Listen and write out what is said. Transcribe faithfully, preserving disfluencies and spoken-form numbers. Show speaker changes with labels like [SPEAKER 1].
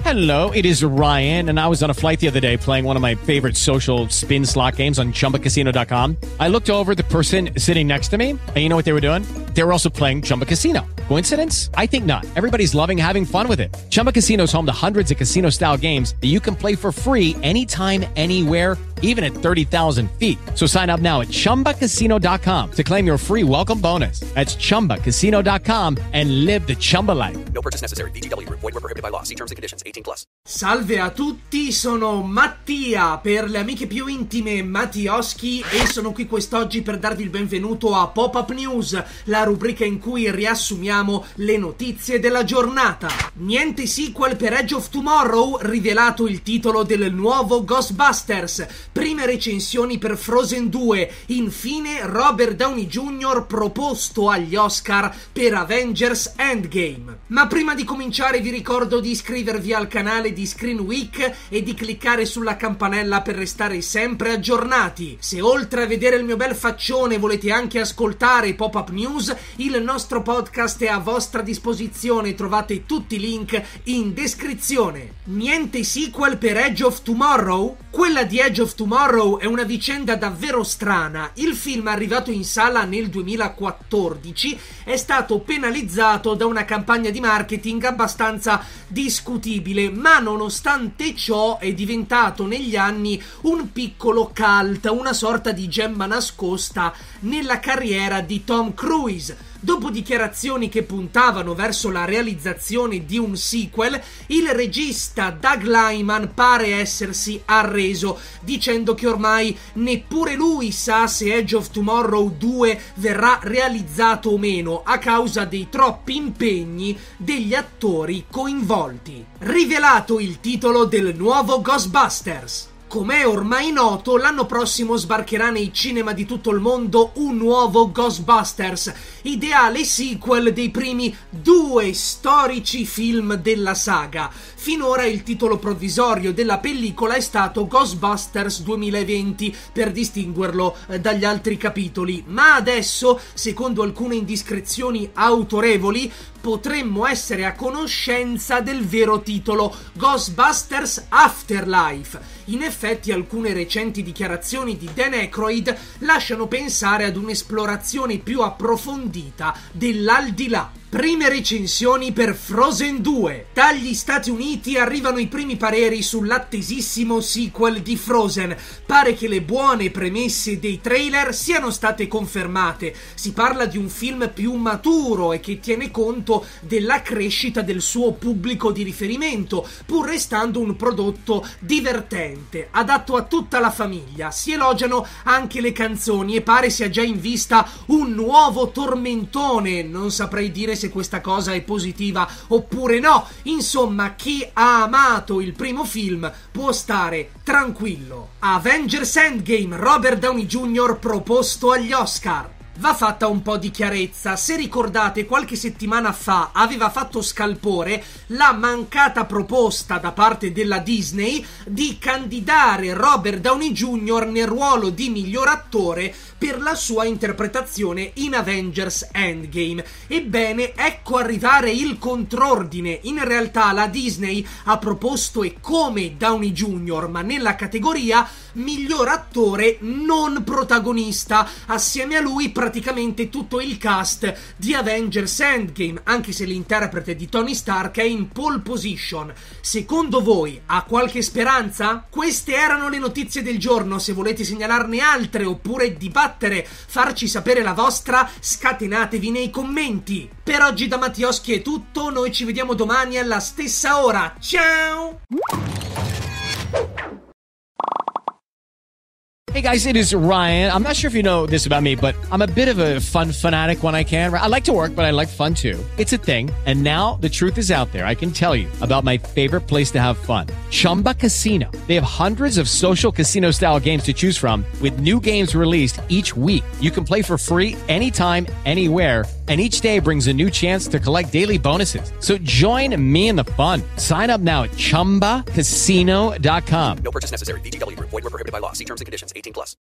[SPEAKER 1] Hello, it is Ryan, and I was on a flight the other day playing one of my favorite social spin slot games on Chumba Casino dot com. I looked over at the person sitting next to me, and you know what they were doing? They were also playing Chumba Casino. Coincidence? I think not. Everybody's loving having fun with it. Chumba Casino is home to hundreds of casino-style games that you can play for free anytime, anywhere, even at thirty thousand feet. So sign up now at Chumba Casino dot com to claim your free welcome bonus. That's Chumba Casino dot com and live the Chumba life.
[SPEAKER 2] No purchase necessary. V G W. Void where prohibited by law. See terms and conditions. eighteen plus.
[SPEAKER 3] Salve a tutti, sono Mattia per le amiche più intime Mattioschi e sono qui quest'oggi per darvi il benvenuto a Pop-Up News, la rubrica in cui riassumiamo le notizie della giornata. Niente sequel per Edge of Tomorrow, rivelato il titolo del nuovo Ghostbusters. Prime recensioni per Frozen due. Infine Robert Downey junior proposto agli Oscar per Avengers Endgame. Ma prima di cominciare vi ricordo di iscrivervi al canale di Screen Week e di cliccare sulla campanella per restare sempre aggiornati. Se oltre a vedere il mio bel faccione volete anche ascoltare Pop-Up News, il nostro podcast è a vostra disposizione, trovate tutti i link in descrizione. Niente sequel per Edge of Tomorrow? Quella di Edge of Tomorrow è una vicenda davvero strana. Il film, arrivato in sala nel duemilaquattordici, è stato penalizzato da una campagna di marketing abbastanza discutibile, ma nonostante ciò è diventato negli anni un piccolo cult, una sorta di gemma nascosta nella carriera di Tom Cruise. Dopo dichiarazioni che puntavano verso la realizzazione di un sequel, il regista Doug Liman pare essersi arreso, dicendo che ormai neppure lui sa se Edge of Tomorrow due verrà realizzato o meno a causa dei troppi impegni degli attori coinvolti. Rivelato il titolo del nuovo Ghostbusters. Come ormai noto, l'anno prossimo sbarcherà nei cinema di tutto il mondo un nuovo Ghostbusters, ideale sequel dei primi due storici film della saga. Finora il titolo provvisorio della pellicola è stato Ghostbusters duemilaventi, per distinguerlo dagli altri capitoli, ma adesso, secondo alcune indiscrezioni autorevoli, potremmo essere a conoscenza del vero titolo, Ghostbusters Afterlife. In effetti alcune recenti dichiarazioni di Dan Aykroyd lasciano pensare ad un'esplorazione più approfondita dell'aldilà. Prime recensioni per Frozen due. Dagli Stati Uniti arrivano i primi pareri sull'attesissimo sequel di Frozen. Pare che le buone premesse dei trailer siano state confermate. Si parla di un film più maturo e che tiene conto della crescita del suo pubblico di riferimento, pur restando un prodotto divertente, adatto a tutta la famiglia. Si elogiano anche le canzoni e pare sia già in vista un nuovo tormentone. Non saprei dire se questa cosa è positiva oppure no. Insomma, chi ha amato il primo film può stare tranquillo. Avengers Endgame, Robert Downey junior proposto agli Oscar. Va fatta un po' di chiarezza. Se ricordate, qualche settimana fa aveva fatto scalpore la mancata proposta da parte della Disney di candidare Robert Downey junior nel ruolo di miglior attore per la sua interpretazione in Avengers Endgame. Ebbene, ecco arrivare il contrordine. In realtà la Disney ha proposto e come Downey junior, ma nella categoria miglior attore non protagonista. Assieme a lui praticamente tutto il cast di Avengers Endgame, anche se l'interprete di Tony Stark è in pole position. Secondo voi ha qualche speranza? Queste erano le notizie del giorno. Se volete segnalarne altre oppure dibattere, farci sapere la vostra, scatenatevi nei commenti. Per oggi da Mattioschi è tutto, noi ci vediamo domani alla stessa ora. Ciao!
[SPEAKER 1] Hey guys, it is Ryan. I'm not sure if you know this about me, but I'm a bit of a fun fanatic when I can. I like to work, but I like fun too. It's a thing. And now the truth is out there. I can tell you about my favorite place to have fun. Chumba Casino. They have hundreds of social casino style games to choose from with new games released each week. You can play for free anytime, anywhere. And each day brings a new chance to collect daily bonuses. So join me in the fun. Sign up now at Chumba Casino dot com.
[SPEAKER 2] No purchase necessary. V G W. Void where prohibited by law. See terms and conditions. eighteen plus.